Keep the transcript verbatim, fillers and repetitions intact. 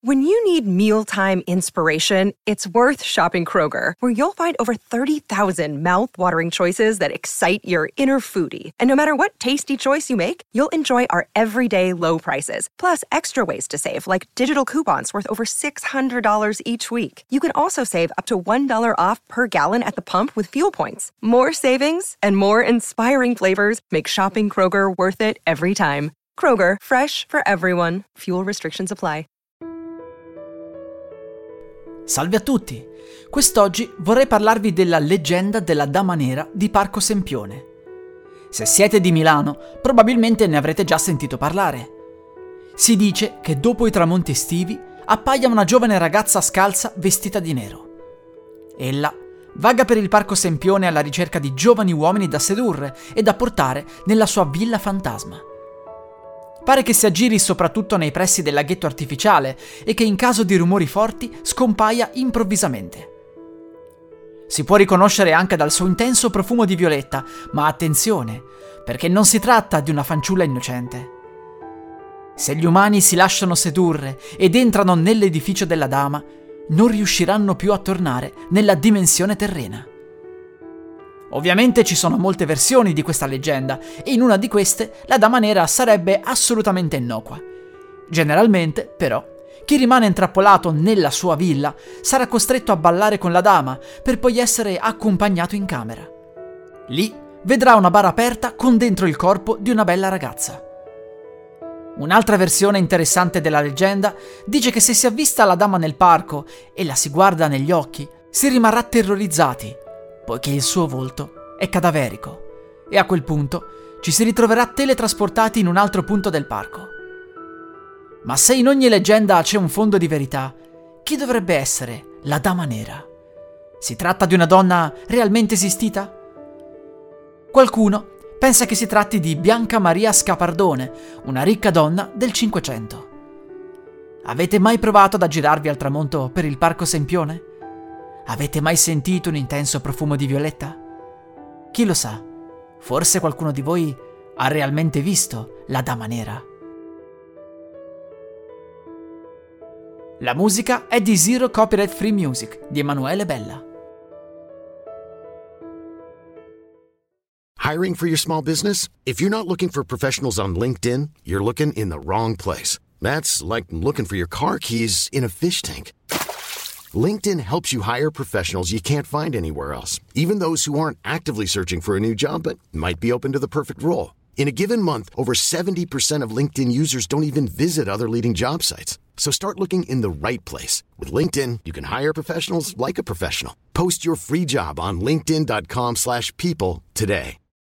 When you need mealtime inspiration, it's worth shopping Kroger, where you'll find over thirty thousand mouth-watering choices that excite your inner foodie. And no matter what tasty choice you make, you'll enjoy our everyday low prices, plus extra ways to save, like digital coupons worth over six hundred dollars each week. You can also save up to one dollar off per gallon at the pump with fuel points. More savings and more inspiring flavors make shopping Kroger worth it every time. Kroger, fresh for everyone. Fuel restrictions apply. Salve a tutti! Quest'oggi vorrei parlarvi della leggenda della Dama Nera di Parco Sempione. Se siete di Milano, probabilmente ne avrete già sentito parlare. Si dice che dopo i tramonti estivi appaia una giovane ragazza scalza vestita di nero. Ella vaga per il Parco Sempione alla ricerca di giovani uomini da sedurre e da portare nella sua villa fantasma. Pare che si aggiri soprattutto nei pressi del laghetto artificiale e che in caso di rumori forti scompaia improvvisamente. Si può riconoscere anche dal suo intenso profumo di violetta, ma attenzione, perché non si tratta di una fanciulla innocente. Se gli umani si lasciano sedurre ed entrano nell'edificio della dama, non riusciranno più a tornare nella dimensione terrena. Ovviamente ci sono molte versioni di questa leggenda e in una di queste la Dama Nera sarebbe assolutamente innocua. Generalmente, però, chi rimane intrappolato nella sua villa sarà costretto a ballare con la dama per poi essere accompagnato in camera. Lì vedrà una bara aperta con dentro il corpo di una bella ragazza. Un'altra versione interessante della leggenda dice che se si avvista la dama nel parco e la si guarda negli occhi, si rimarrà terrorizzati, poiché il suo volto è cadaverico e a quel punto ci si ritroverà teletrasportati in un altro punto del parco. Ma se in ogni leggenda c'è un fondo di verità, chi dovrebbe essere la Dama Nera? Si tratta di una donna realmente esistita? Qualcuno pensa che si tratti di Bianca Maria Scapardone, una ricca donna del Cinquecento. Avete mai provato ad aggirarvi al tramonto per il Parco Sempione? Avete mai sentito un intenso profumo di violetta? Chi lo sa, forse qualcuno di voi ha realmente visto la Dama Nera. La musica è di Zero Copyright Free Music di Emanuele Bella. Hiring for your small business? If you're not looking for professionals on LinkedIn, you're looking in the wrong place. That's like looking for your car keys in a fish tank. LinkedIn helps you hire professionals you can't find anywhere else, even those who aren't actively searching for a new job but might be open to the perfect role. In a given month, over seventy percent of LinkedIn users don't even visit other leading job sites. So start looking in the right place. With LinkedIn, you can hire professionals like a professional. Post your free job on linkedin dot com slash people today.